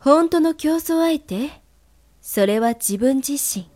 本当の競争相手、それは自分自身。